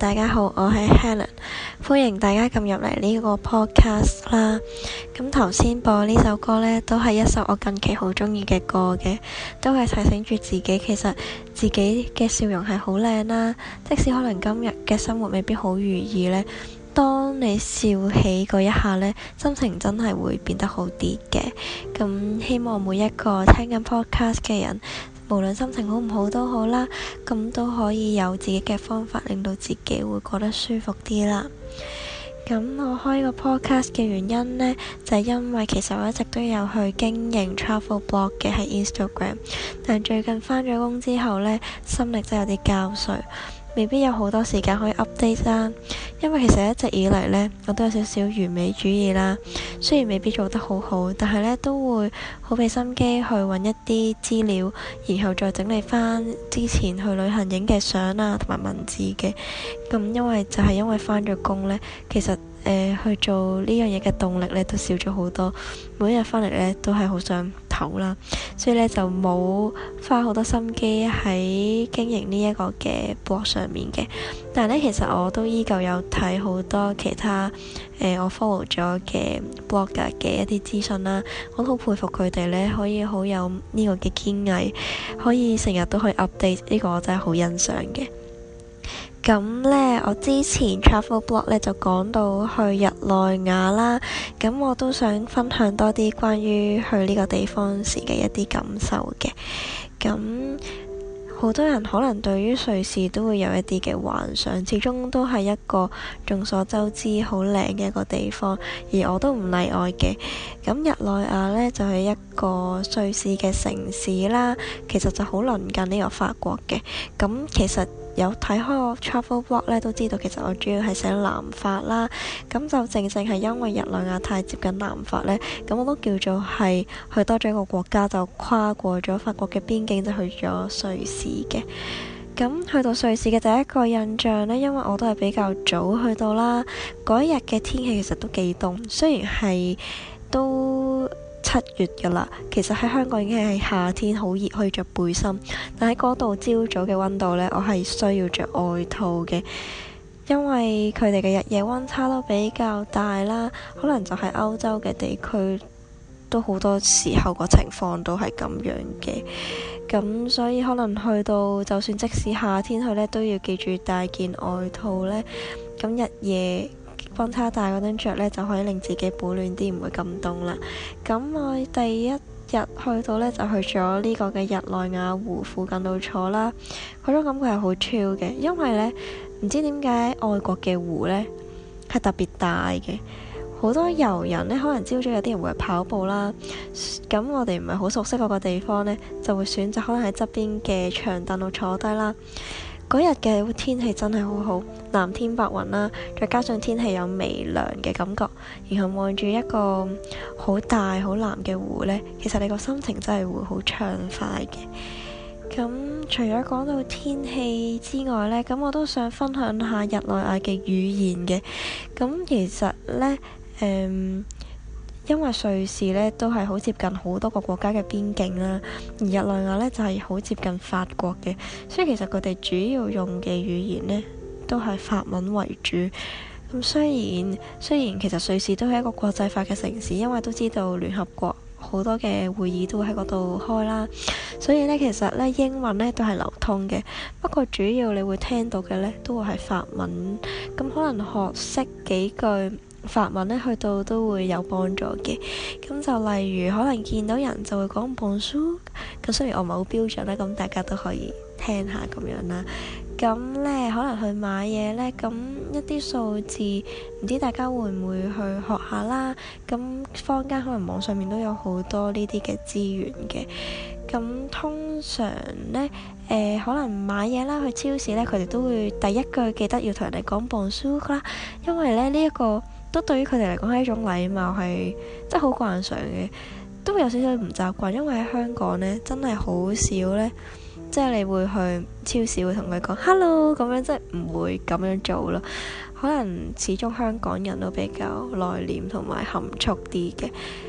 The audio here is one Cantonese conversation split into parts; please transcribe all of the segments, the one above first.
大家好，我係 Helen， 歡迎大家撳入嚟呢個 podcast 啦。咁頭先播呢首歌呢，都係一首我近期好中意嘅歌嘅，都係提醒住自己，其實自己嘅笑容係好靚啦。即使可能今日嘅生活未必好如意呢，當你笑起嗰一下呢，心情真係會變得好啲嘅。咁希望每一個聽緊 podcast 嘅人，無論心情好唔好都好啦，咁都可以有自己嘅方法，令到自己會覺得舒服啲啦。咁我開個 podcast 嘅原因呢，就係因為其實我一直都有去經營 travel blog 嘅喺 Instagram， 但最近返咗工之後呢，心力真係有啲交瘁，未必有好多時間可以 update 啦。因為其實一直以嚟呢，我都有少少完美主義啦。雖然未必做得好好，但係呢都會好俾心機去揾一啲資料，然後再整理翻之前去旅行影嘅相啊，同埋文字嘅。咁因為返咗工呢，其實去做呢樣嘢嘅動力呢都少咗好多。每一日返嚟呢都係好想唞啦，所以呢就冇花好多心機喺經營呢一個嘅 blog 上面嘅。但係呢，其實我都依舊有睇好多其他我 follow 咗嘅 blogger 嘅一啲資訊啦。我都好佩服佢哋呢，可以好有呢個嘅堅毅，可以成日都去 update， 呢個我真係好欣賞嘅。咁呢，我之前 travel blog 呢就講到去日內瓦啦，咁我都想分享多啲關於去呢個地方時嘅一啲感受嘅。咁好多人可能對於瑞士都會有一啲嘅幻想，始終都係一個眾所周知好靚嘅一個地方，而我都唔例外嘅。咁日內瓦呢，就係一個瑞士嘅城市啦，其實就好鄰近呢個法國嘅。咁其實有睇開我 travel blog 咧，都知道其實我主要係寫南法啦。咁就正正係因為日內瓦太接近南法呢，咁我都叫做係去多咗一個國家，就跨過咗法國嘅邊境，就去咗瑞士嘅。咁去到瑞士嘅第一個印象呢，因為我都係比較早去到啦，嗰一日嘅天氣其實都幾凍，雖然係都7月㗎啦，其實喺香港已經係夏天，好熱，可以着背心。但喺嗰度朝早嘅溫度呢，我係需要着外套嘅，因為佢哋嘅日夜溫差都比較大啦。可能就係歐洲嘅地區都好多時候個情況都係咁樣嘅。咁所以可能去到就算即使夏天去呢，都要記住帶件外套呢。咁日夜溫差大嗰陣着呢，就可以令自己保暖啲，唔會咁凍啦。咁我第一日去到呢，就去咗呢個嘅日內瓦湖附近度坐啦。嗰種感覺係好 chill 嘅，因為呢，唔知點解外國嘅湖呢係特別大嘅。好多遊人呢，可能朝早有啲人會跑步啦。咁我哋唔係好熟悉嗰個地方呢，就會選擇可能喺側邊嘅長凳度坐低啦。嗰日嘅天氣真係好好，藍天白雲啦，再加上天氣有微涼嘅感覺，然後望住一個好大好藍嘅湖呢，其實你個心情真係會好暢快嘅。咁除咗講到天氣之外呢，咁我都想分享下日內瓦嘅語言嘅。咁其實呢，因為瑞士呢都係好接近好多個國家嘅邊境啦，而日內瓦呢就係好接近法國嘅，所以其實佢哋主要用嘅語言呢都係法文為主。咁雖然其實瑞士都係一個國際化嘅城市，因為都知道聯合國好多嘅會議都會喺嗰度開啦，所以呢，其實呢英文呢都係流通嘅。不過主要你會聽到嘅呢都會係法文，咁可能學識幾句法文呢，去到都會有幫助嘅。咁就例如可能見到人就會講 Bonjour， 咁雖然我唔係好標準啦，咁大家都可以聽下咁樣啦。咁呢，可能去買嘢呢，咁一啲數字唔知大家會唔會去學下啦。咁坊間可能網上面都有好多呢啲嘅資源嘅。咁通常呢，可能買嘢啦，去超市呢，佢哋都會第一句記得要同人哋講 Bonjour 啦，因為呢一個都對於佢哋嚟講係一種禮貌，係即係好慣常嘅，都會有少少唔習慣，因為喺香港呢，真係好少呢，即係你會去超市會同佢講 hello 咁樣，即係唔會咁樣做咯。可能始終香港人都比較內斂同埋含蓄啲嘅。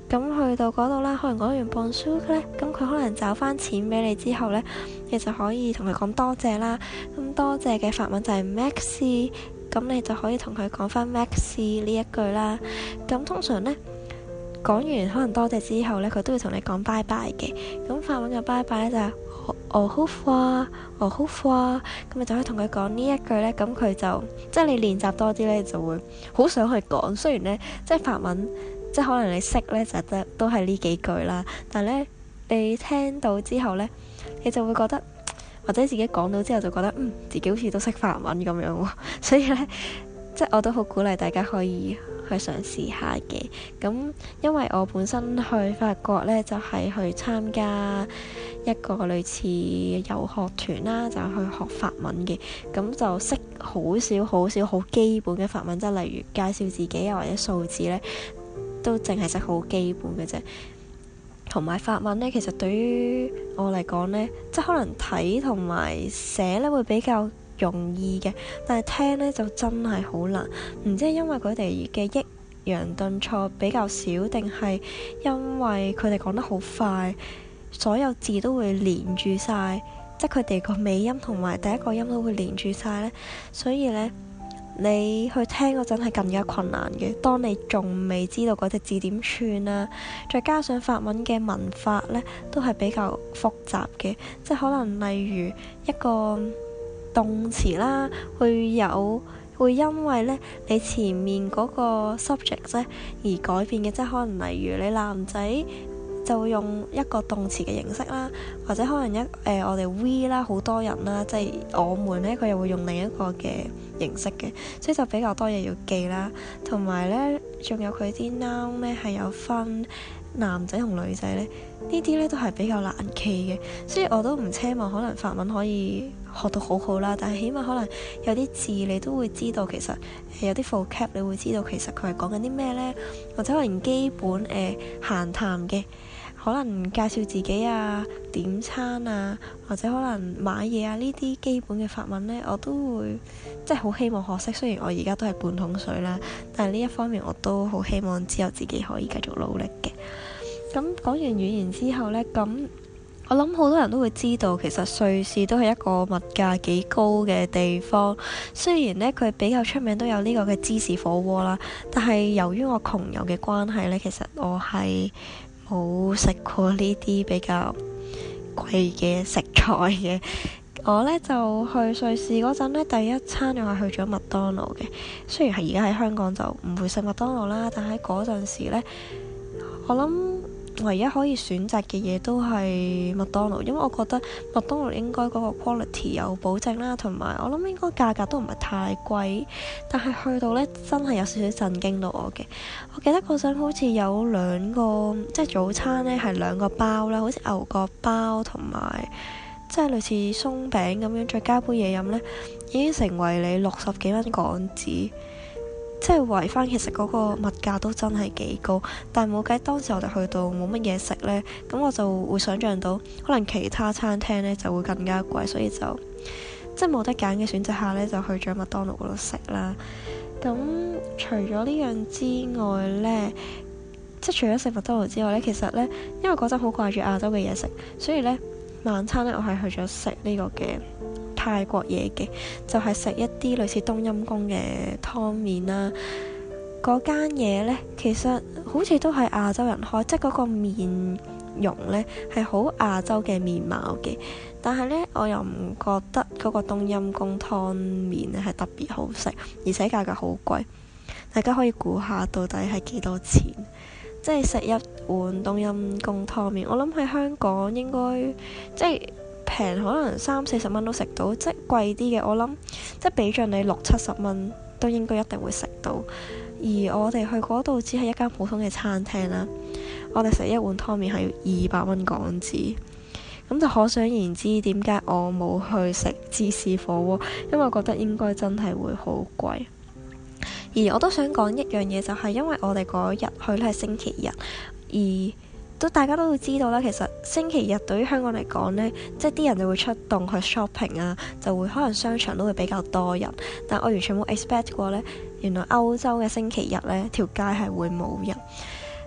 咁去到嗰度啦，可能講完 bonjour 咧，咁佢可能找翻錢俾你之後呢，你就可以同佢講多謝啦。咁多謝嘅法文就係 merci， 咁你就可以同佢講翻 merci 呢一句啦。咁通常呢，講完可能多謝之後呢，佢都會同你講拜拜嘅。咁法文嘅拜拜呢，就係au revoir，au revoir，咁你就可以同佢講呢一句呢。咁佢就即係你練習多啲呢，就會好想去講。雖然呢，即係法文。即係可能你識呢，就都係呢幾句啦，但係呢，你聽到之後呢，你就會覺得，或者自己講到之後就覺得，自己好似都識法文咁樣喎。所以呢，即係我都好鼓勵大家可以去嘗試下嘅。咁因為我本身去法國呢，就係去參加一個類似遊學團啦，就去學法文嘅。咁就識好少好基本嘅法文，即係例如介紹自己啊，或者數字呢。都淨係識好基本嘅啫，同埋法文呢，其實對於我嚟講呢，即係可能睇同埋寫呢會比較容易嘅，但係聽呢就真係好難。唔知係因為佢哋嘅抑揚頓挫比較少，定係因為佢哋講得好快，所有字都會連住晒，即係佢哋個尾音同埋第一個音都會連住晒呢。所以呢，你去聽嗰陣係更加困難嘅。當你仲未知道嗰隻字點串啦，再加上法文嘅文法呢都係比較複雜嘅，即係可能例如一個動詞啦，會因為呢你前面嗰個 subject 呢而改變嘅，即係可能例如你男仔就會用一個動詞嘅形式啦，或者可能我哋 we 啦，好多人啦，即係我們呢，佢又會用另一個嘅形式嘅，所以就比較多嘢要記啦。同埋呢，仲有佢啲 noun 呢係有分男仔同女仔呢，呢啲呢都係比較難記嘅，所以我都唔奢望可能法文可以學到好好啦，但係起碼可能有啲字你都會知道，其實有啲 vocab 你會知道其實佢係講緊啲咩呢，或者可能基本閒談嘅。可能介紹自己啊、點餐啊，或者可能買嘢啊，呢啲基本嘅法文呢，我都會即係好希望學識。雖然我而家都係半桶水啦，但係呢一方面我都好希望之後自己可以繼續努力嘅。咁講完語言之後呢，咁我諗好多人都會知道，其實瑞士都係一個物價幾高嘅地方。雖然呢，佢比較出名都有呢個嘅芝士火鍋啦，但係由於我窮遊嘅關係呢，其實我係冇食過呢啲比較貴嘅食材嘅。我呢就去瑞士嗰陣呢，第一餐我係去咗麥當勞嘅。雖然係而家喺香港就唔會食麥當勞啦，但喺嗰陣時呢，我諗唯一可以選擇嘅嘢都係麥當勞，因為我覺得麥當勞應該嗰個 quality 有保證啦，同埋我諗應該價格都唔係太貴。但係去到呢，真係有少少震驚到我嘅。我記得嗰陣好似有兩個，即係早餐呢係兩個包啦，好似牛角包同埋即係類似鬆餅咁樣，再加杯嘢飲呢，已經成為你60幾蚊港紙。即係圍翻，其實嗰個物價都真係幾高，但係冇計，當時我哋去到冇乜嘢食呢，咁我就會想像到可能其他餐廳呢就會更加貴，所以就即係冇得揀嘅選擇下呢，就去咗麥當勞嗰度食啦。咁除咗呢樣之外呢，即係除咗食麥當勞之外呢，其實呢，因為嗰陣好掛住亞洲嘅嘢食，所以呢，晚餐呢，我係去咗食呢個嘅泰國嘢嘅，就係食一啲類似冬陰功嘅湯麵啦。嗰間嘢呢，其實好似都係亞洲人開，即係嗰個面容呢係好亞洲嘅面貌嘅。但係呢，我又唔覺得嗰個冬陰功湯麵呢係特別好食，而且價格好貴。大家可以估下到底係幾多錢？即係食一碗冬陰功湯麵，我諗喺香港應該即係平，可能30-40蚊都食到。即係貴啲嘅，我諗即係俾盡你60-70蚊都應該一定會食到。而我哋去嗰度只係一間普通嘅餐廳啦，我哋食一碗湯麵係要200蚊港紙，咁就可想而知點解我冇去食芝士火鍋，因為我覺得應該真係會好貴。而我都想講一樣嘢，就係因為我哋嗰日去咧係星期日，而大家都會知道啦。其實星期日對於香港嚟講呢，即係啲人就會出動去 shopping 啊，就會可能商場都會比較多人。但我完全冇 expect 過呢，原來歐洲嘅星期日呢條街係會冇人。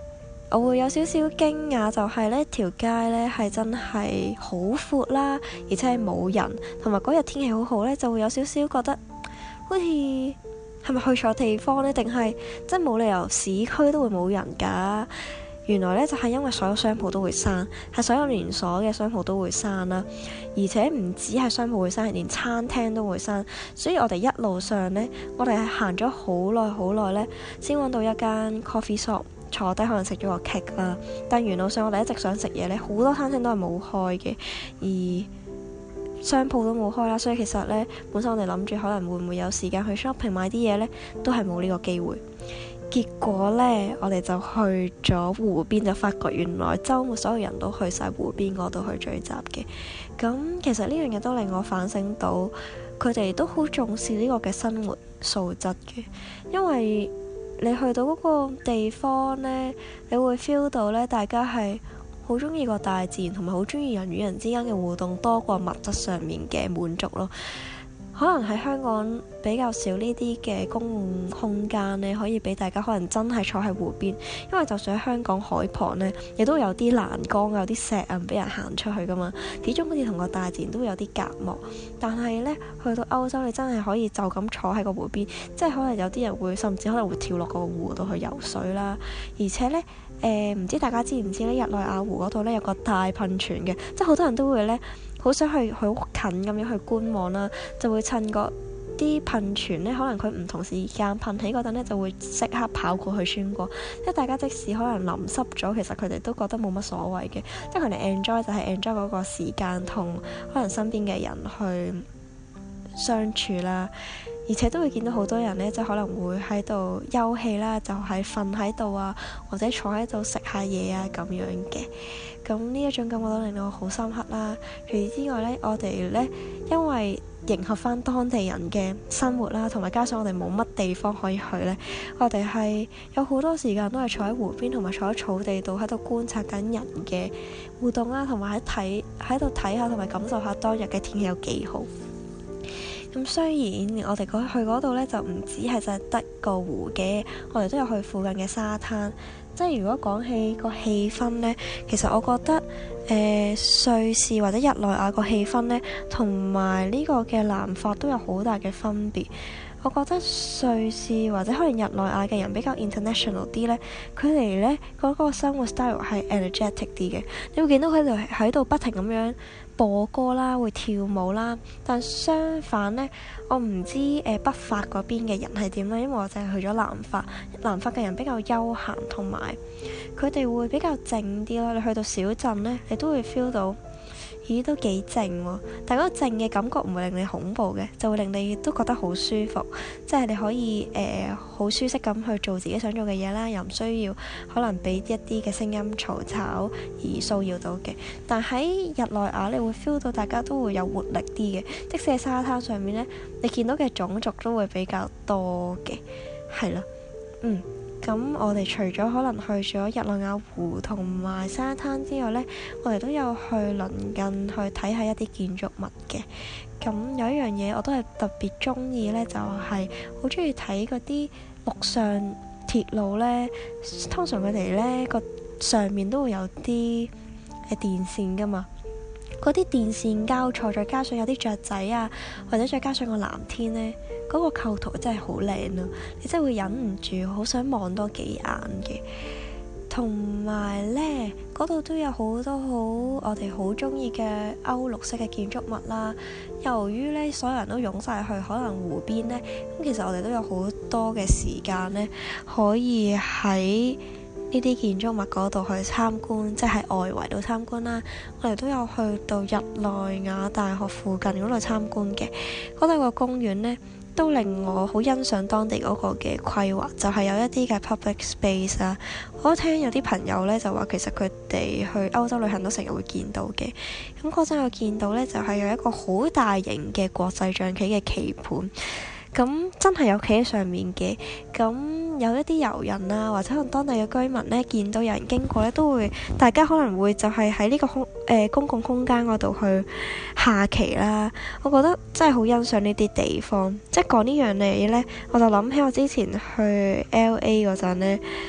我會有少少驚訝，就係呢條街呢係真係好闊啦，而且係冇人，同埋嗰日天氣好好呢，就會有少少覺得好似係咪去錯地方呢？定係真冇理由市區都會冇人㗎？原來呢，就係因為所有商鋪都會閂，係所有連鎖嘅商鋪都會閂啦，而且唔止係商鋪會閂，連餐廳都會閂。所以我哋一路上呢，我哋係行咗好耐呢，先揾到一間 coffee shop 坐低，可能食咗個 cake 啦。但沿路上我哋一直想食嘢呢，好多餐廳都係冇開嘅，而商鋪都冇開啦。所以其實呢，本身我哋諗住可能會唔會有時間去 shopping 買啲嘢呢，都係冇呢個機會。結果呢，我哋就去咗湖邊，就發覺原來週末所有人都去晒湖邊嗰度去聚集嘅。咁其實呢樣嘢都令我反省到，佢哋都好重視呢個嘅生活素質嘅。因為你去到嗰個地方呢，你會 feel 到呢，大家係好中意個大自然，同埋好中意人與人之間嘅互動，多過物質上面嘅滿足咯。可能喺香港比較少呢啲嘅公共空間呢，可以俾大家可能真係坐喺湖邊，因為就算喺香港海旁呢，亦都有啲欄杆，有啲石啊，俾人行出去噶嘛。始終好似同個大自然都會有啲隔膜。但係呢，去到歐洲，你真係可以就咁坐喺個湖邊，即係可能有啲人會甚至可能會跳落個湖度去游水啦。而且呢，唔知大家知唔知呢？日內瓦湖嗰度呢，有個大噴泉嘅，即係好多人都會呢，好想去好近咁樣去觀望啦，就會趁個啲噴泉呢，可能佢唔同時間噴起嗰陣呢，就會即刻跑過去穿過。即係大家即使可能淋濕咗，其實佢哋都覺得冇乜所謂嘅，即係佢哋 enjoy 就係 enjoy 嗰個時間同可能身邊嘅人去相處啦。而且都會見到好多人呢，即係可能會喺度休憩啦，就係瞓喺度啊，或者坐喺度食下嘢啊咁樣嘅。咁呢一種感覺都令到我好深刻啦。除此之外呢，我哋呢，因為迎合翻當地人嘅生活啦，同埋加上我哋冇乜地方可以去呢，我哋係有好多時間都係坐喺湖邊，同埋坐喺草地度喺度觀察緊人嘅互動啦，同埋喺度睇下同埋感受下當日嘅天氣有幾好。咁雖然我哋去嗰度呢，就唔止係就係得個湖嘅，我哋都有去附近嘅沙灘。即係如果講起個氣氛呢，其實我覺得瑞士或者日內瓦個氣氛呢，同埋呢個嘅南法都有好大嘅分別。我覺得瑞士或者可能日內瓦嘅人比較 international 啲呢，佢哋呢嗰個生活 style 係 energetic 啲嘅。你會見到佢哋喺度不停咁樣播歌啦，會跳舞啦。但相反呢，我唔知北法嗰邊嘅人係點啦，因為我淨係去咗南法。南法嘅人比較休閒，同埋佢哋會比較靜啲咯。你去到小鎮呢，你都會 feel 到，咦，都幾靜喎。但嗰個靜嘅感覺唔會令你恐怖嘅，就會令你都覺得好舒服。即係你可以好舒適咁去做自己想做嘅嘢啦，又唔需要可能俾一啲嘅聲音嘈吵而騷擾到嘅。但喺日內瓦你會 feel 到大家都會有活力啲嘅，即使喺沙灘上面呢，你見到嘅種族都會比較多嘅，係啦。咁我哋除咗可能去咗日內瓦湖同埋沙灘之外呢，我哋都有去鄰近去睇下一啲建築物嘅。咁有一樣嘢我都係特別中意呢，就係好中意睇嗰啲陸上鐵路呢。通常佢哋呢個上面都會有啲電線噶嘛，嗰啲電線交錯，再加上有啲雀仔啊，或者再加上個藍天呢，嗰個構圖真係好靚咯，你真係會忍唔住好想望多幾眼嘅。同埋呢，嗰度都有好多我哋好中意嘅歐陸式嘅建築物啦。由於呢，所有人都湧晒去可能湖邊呢，咁其實我哋都有好多嘅時間呢，可以喺呢啲建築物嗰度去參觀，即係外圍度參觀啦。我哋都有去到日內瓦大學附近嗰度參觀嘅。嗰度個公園呢，都令我好欣賞當地嗰個嘅規劃，就係有一啲嘅 public space 啊。我都聽有啲朋友呢就話，其實佢哋去歐洲旅行都成日會見到嘅。咁嗰陣我見到呢，就係有一個好大型嘅國際象棋嘅棋盤。咁真係有企喺上面嘅。咁有一啲遊人啊，或者可能當地嘅居民呢，見到有人經過呢，都會大家可能會就係喺呢個公共空間嗰度去下棋啦。我覺得真係好欣賞呢啲地方。即係講呢樣嘢呢，我就諗起我之前去 LA 嗰陣呢，喺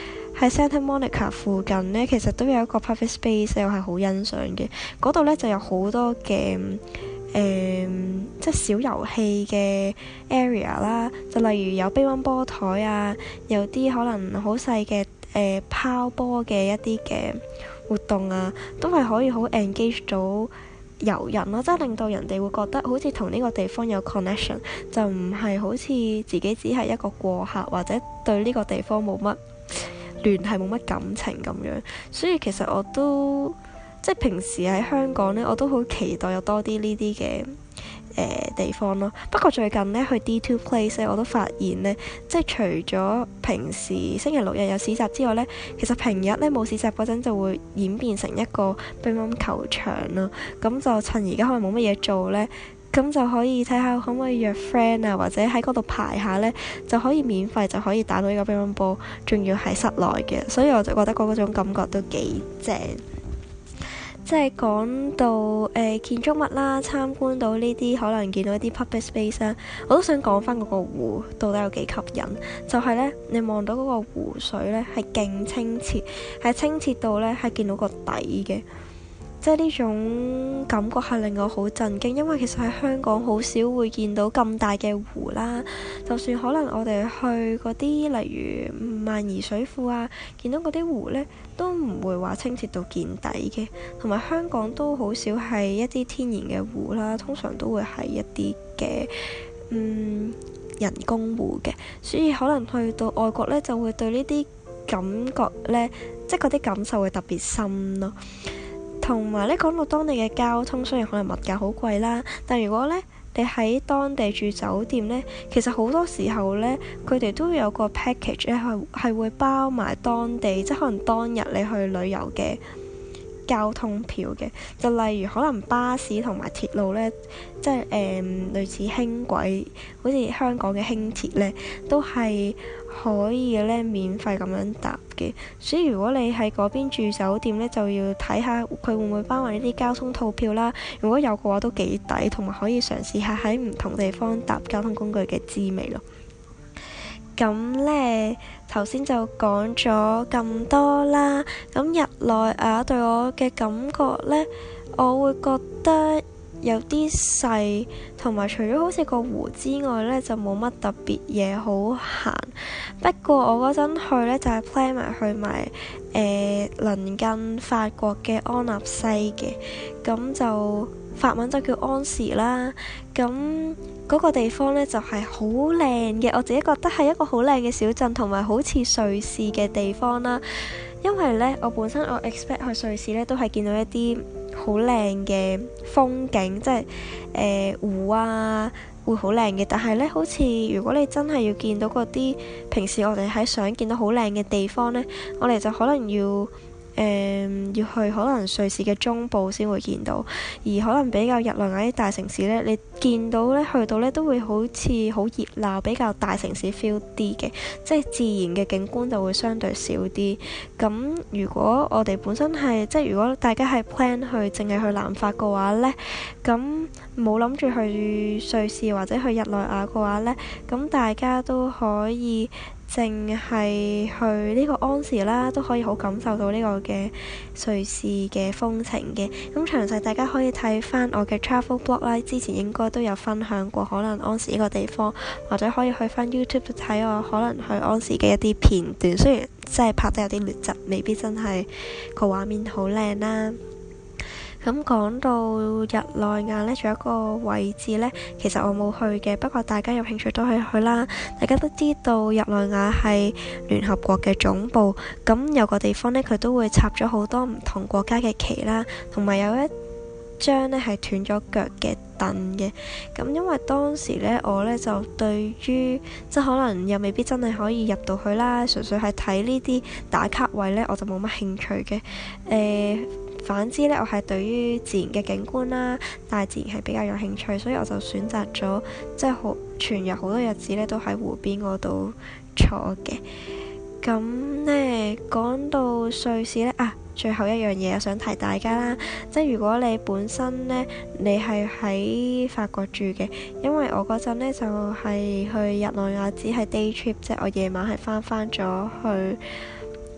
喺 Santa Monica 附近呢，其實都有一個 public space 我係好欣賞嘅。嗰度呢就有好多嘅即係小遊戲嘅 area 啦，就例如有乒乓波台啊，有啲可能好細嘅拋波嘅一啲嘅活動啊，都係可以好 engage 到遊人咯，即係令到人哋會覺得好似同呢個地方有 connection， 就唔係好似自己只係一個過客，或者對呢個地方冇乜聯繫、冇乜感情咁樣。所以其實我都即係平時喺香港呢，我都好期待有多啲呢啲嘅地方咯。不過最近呢，去 D2 Place 呢，我都發現呢，即係除咗平時星期六日有市集之外呢，其實平日呢冇市集嗰陣就會演變成一個乒乓球場咯。咁就趁而家可能冇乜嘢做呢，咁就可以睇下可唔可以約 friend 啊，或者喺嗰度排下呢，就可以免費就可以打到呢個乒乓波，仲要係室內嘅，所以我就覺得嗰種感覺都幾正。即係講到建築物啦，參觀到呢啲可能見到一啲 public space 啦，我都想講翻嗰個湖到底有幾吸引。就係呢，你望到嗰個湖水呢係勁清澈，係清澈到呢係見到個底嘅。即係呢種感覺係令我好震驚，因為其實喺香港好少會見到咁大嘅湖啦。就算可能我哋去嗰啲例如萬宜水庫啊，見到嗰啲湖呢，都唔會話清澈到見底嘅。同埋香港都好少係一啲天然嘅湖啦，通常都會係一啲嘅人工湖嘅。所以可能去到外國呢，就會對呢啲感覺呢，即係嗰啲感受會特別深咯。同埋咧，講到當地嘅交通，雖然可能物價好貴啦，但如果咧你喺當地住酒店咧，其實好多時候咧，佢哋都有個 package 咧，係會包埋當地，即係可能當日你去旅遊嘅交通票嘅。就例如可能巴士同埋鐵路咧，即係類似輕軌，好似香港嘅輕鐵咧，都係可以咧免費咁樣搭嘅。所以如果你喺嗰邊住酒店咧，就要睇下佢會唔會包埋呢啲交通套票啦。如果有嘅話，都幾抵，同埋可以嘗試下喺唔同地方搭交通工具嘅滋味咯。咁呢，頭先就講咗咁多啦。咁日內瓦對我嘅感覺呢，我會覺得有啲細，同埋除咗好似個湖之外呢，就冇乜特別嘢好行。不過我嗰陣去呢，就係 plan 埋去埋鄰近法國嘅安納西嘅，咁就法文就叫安時啦。咁嗰個地方呢，就係好靚嘅，我自己覺得係一個好靚嘅小鎮，同埋好似瑞士嘅地方啦。因為呢，我本身我 expect 去瑞士呢，都係見到一啲好靚嘅風景，即係湖啊會好靚嘅。但係呢，好似如果你真係要見到嗰啲平時我哋喺想見到好靚嘅地方呢，我哋就可能要去可能瑞士嘅中部先會見到，而可能比較日內瓦啲大城市呢，你見到呢，去到呢都會好似好熱鬧，比較大城市 feel 啲嘅，即係自然嘅景觀就會相對少啲。咁如果我哋本身係即係如果大家係 plan 去淨係去南法嘅話呢，咁冇諗住去瑞士或者去日內瓦嘅話呢，咁大家都可以淨係去呢個安時啦，都可以好感受到呢個嘅瑞士嘅風情嘅。咁詳細大家可以睇翻我嘅 travel blog 啦，之前應該都有分享過可能安時呢個地方，或者可以去翻 YouTube 睇我可能去安時嘅一啲片段。雖然真係拍得有啲劣質，未必真係個畫面好靚啦。咁講到日內瓦呢，仲有一個位置呢，其實我冇去嘅，不過大家有興趣都可以去啦。大家都知道日內瓦係聯合國嘅總部，咁有個地方呢，佢都會插咗好多唔同國家嘅旗啦，同埋有一張呢係斷咗腳嘅凳嘅。咁因為當時呢，我呢就對於即係可能又未必真係可以入到去啦，純粹係睇呢啲打卡位呢，我就冇乜興趣嘅。反之呢，我係對於自然嘅景觀啦、大自然係比較有興趣，所以我就選擇咗即係全日好多日子呢都喺湖邊嗰度坐嘅。咁呢，講到瑞士呢，最後一樣嘢我想提大家啦，即係如果你本身呢，你係喺法國住嘅，因為我嗰陣呢就係去日內瓦只係 day trip，即係我夜晚係翻咗去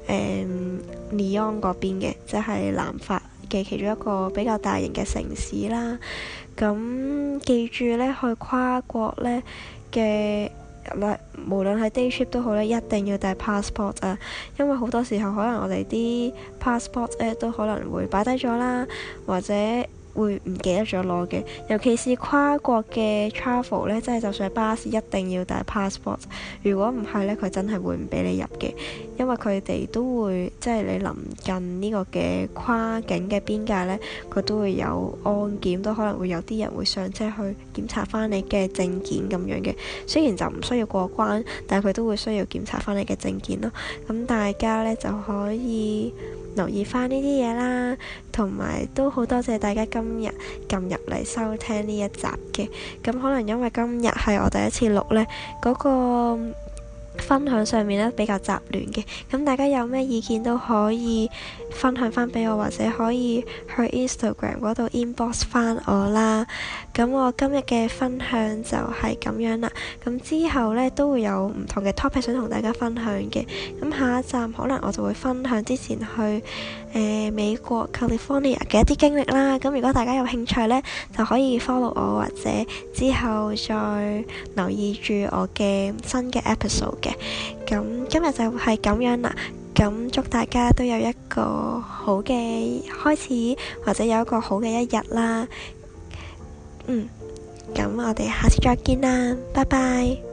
Lyon 嗰邊嘅，即係南法嘅其中一個比較大型嘅城市啦。咁記住咧，去跨國咧嘅無論係 day trip 都好咧，一定要帶 passport 啊，因為好多時候可能我哋啲 passport 咧都可能會擺低咗啦，或者會唔記得咗攞嘅，尤其是跨國嘅 travel 咧，即係就算係巴士一定要帶 passport。如果唔係咧，佢真係會唔俾你入嘅，因為佢哋都會即係你臨近呢個嘅跨境嘅邊界咧，佢都會有安檢，都可能會有啲人會上車去檢查翻你嘅證件咁樣嘅。雖然就唔需要過關，但係佢都會需要檢查翻你嘅證件咯。咁大家咧就可以留意翻呢啲嘢啦，同埋都好多謝大家今日撳入嚟收聽呢一集嘅。咁可能因為今日係我第一次錄呢，嗰個分享上面咧比較雜亂嘅，咁大家有咩意見都可以分享翻俾我，或者可以去 Instagram 嗰度 inbox 翻我啦。咁我今日嘅分享就係咁樣啦。咁之後呢，都會有唔同嘅 topic 想同大家分享嘅。咁下一站可能我就會分享之前去美國 California 嘅一啲經歷啦。咁如果大家有興趣呢，就可以 follow 我，或者之後再留意住我嘅新嘅 episode 嘅。咁今日就係咁樣啦。咁祝大家都有一個好嘅開始，或者有一個好嘅一日啦。咁我哋下次再見啦，拜拜。